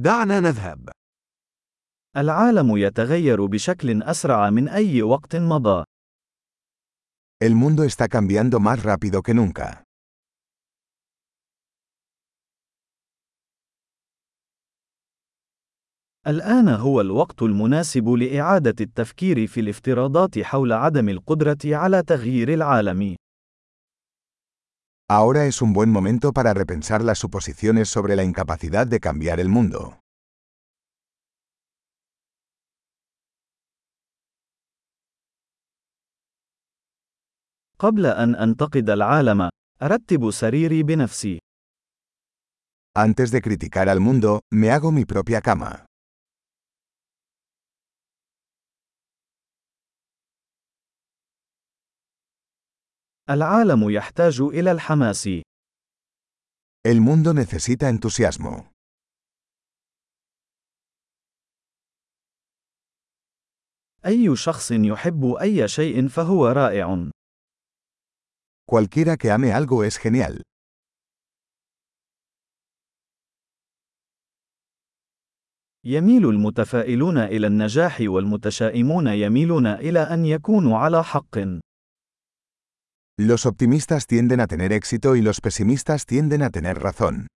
دعنا نذهب. العالم يتغير بشكل أسرع من أي وقت مضى. El mundo está cambiando más rápido que nunca. الآن هو الوقت المناسب لإعادة التفكير في الافتراضات حول عدم القدرة على تغيير العالم. Ahora es un buen momento para repensar las suposiciones sobre la incapacidad de cambiar el mundo. قبل أن أنتقد العالم، أرتب سريري بنفسي. Antes de criticar al mundo, me hago mi propia cama. العالم يحتاج إلى الحماس. El mundo necesita entusiasmo. أي شخص يحب أي شيء فهو رائع. Cualquiera que ame algo es genial. يميل المتفائلون إلى النجاح والمتشائمون يميلون إلى أن يكونوا على حق. Los optimistas tienden a tener éxito y los pesimistas tienden a tener razón.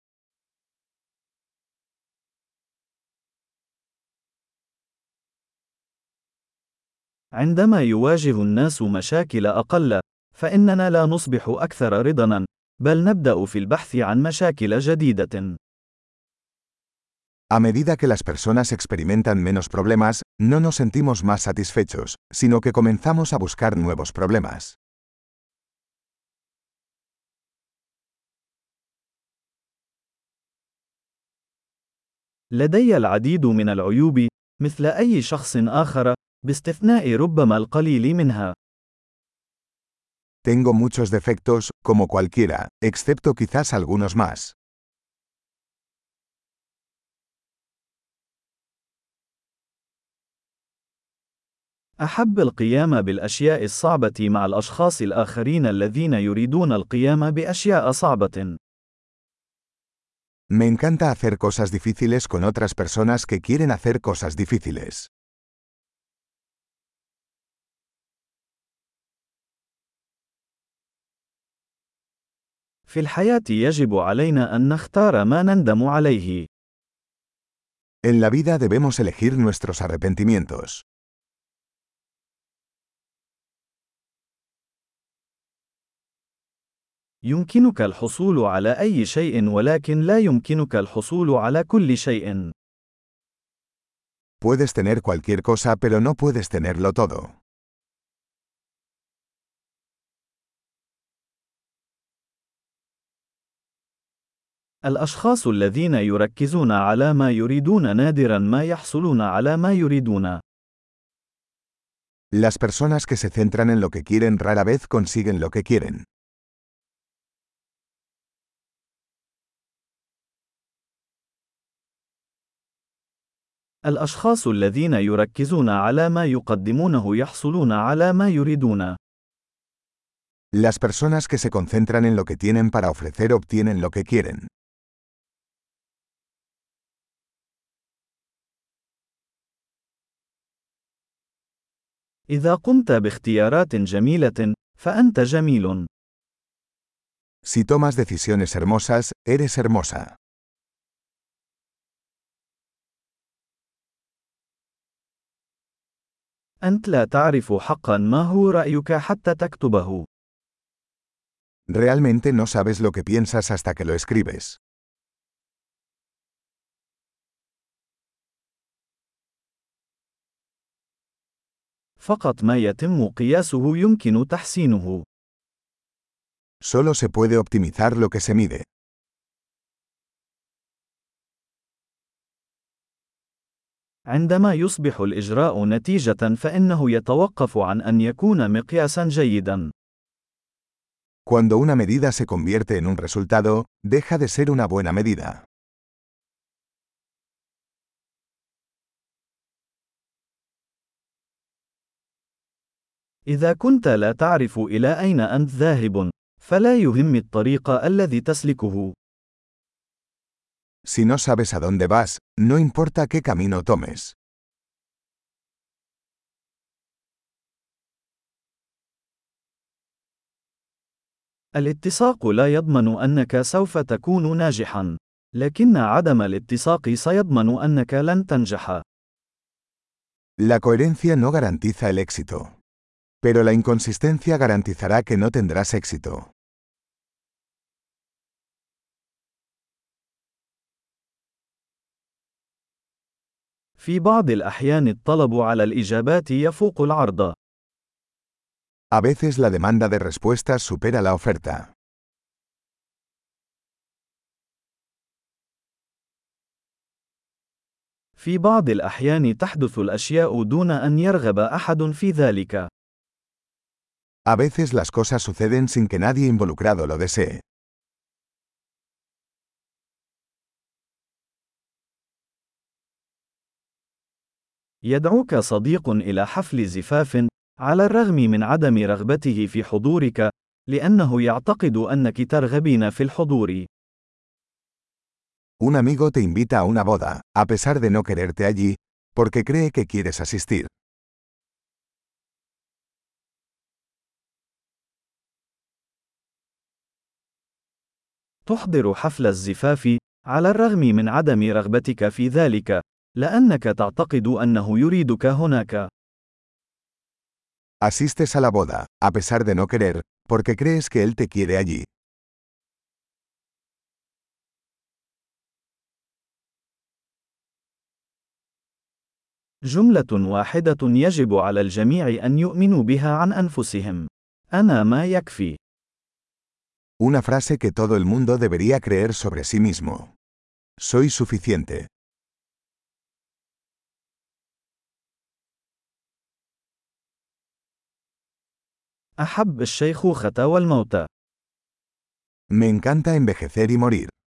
عندما يواجه الناس مشاكل أقل، فإننا لا نصبح أكثر رضاً، بل نبدأ في البحث عن مشاكل جديدة. A medida que las personas experimentan menos problemas, no nos sentimos más satisfechos, sino que comenzamos a buscar nuevos problemas. لدي العديد من العيوب، مثل أي شخص آخر، باستثناء ربما القليل منها. Tengo muchos defectos, como cualquiera, excepto quizás algunos más. أحب القيام بالأشياء الصعبة مع الأشخاص الآخرين الذين يريدون القيام بأشياء صعبة. Me encanta hacer cosas difíciles con otras personas que quieren hacer cosas difíciles. في الحياة يجب علينا أن نختار ما نندم عليه. En la vida debemos elegir nuestros arrepentimientos. يمكنك الحصول على أي شيء ولكن لا يمكنك الحصول على كل شيء. Puedes tener cualquier cosa pero no puedes tenerlo todo. الأشخاص الذين يركزون على ما يريدون نادراً ما يحصلون على ما يريدون. Las personas que se centran en lo que quieren rara vez consiguen lo que quieren. الأشخاص الذين يركزون على ما يقدمونه يحصلون على ما يريدون. Las personas que se concentran en lo que tienen para ofrecer obtienen lo que quieren. إذا قمت باختيارات جميلة، فأنت جميل. Si tomas decisiones hermosas, eres hermosa. أنت لا تعرف حقاً ما هو رأيك حتى تكتبه. Realmente no sabes lo que piensas hasta que lo escribes. فقط ما يتم قياسه يمكن تحسينه. Solo se puede optimizar lo que se mide. عندما يصبح الإجراء نتيجة فإنه يتوقف عن أن يكون مقياساً جيداً. Cuando una medida se convierte en un resultado, deja de ser una buena medida. إذا كنت لا تعرف إلى أين أنت ذاهب، فلا يهم الطريق الذي تسلكه. Si no sabes a dónde vas, no importa qué camino tomes. الاتساق لا يضمن أنك سوف تكون ناجحا، لكن عدم الاتساق سيضمن أنك لن تنجح. La coherencia no garantiza el éxito. Pero la inconsistencia garantizará que no tendrás éxito. في بعض الأحيان الطلب على الإجابات يفوق العرض. A veces la demanda de respuestas supera la oferta. في بعض الأحيان تحدث الأشياء دون أن يرغب أحد في ذلك. A veces las cosas suceden sin que nadie involucrado lo desee. يدعوك صديق إلى حفل زفاف، على الرغم من عدم رغبته في حضورك، لأنه يعتقد أنك ترغبين في الحضور. Un amigo te invita a una boda, a pesar de no quererte allí, porque cree que quieres asistir. تحضر حفل الزفاف، على الرغم من عدم رغبتك في ذلك، لأنك تعتقد أنه يريدك هناك. Asistes a la boda, a pesar de no querer, porque crees que él te quiere allí. جملة واحدة يجب على الجميع أن يؤمنوا بها عن أنفسهم: أنا ما يكفي. Una frase que todo el mundo debería creer sobre sí mismo. Soy suficiente. أحب الشيخوخة والموت. Me encanta envejecer y morir.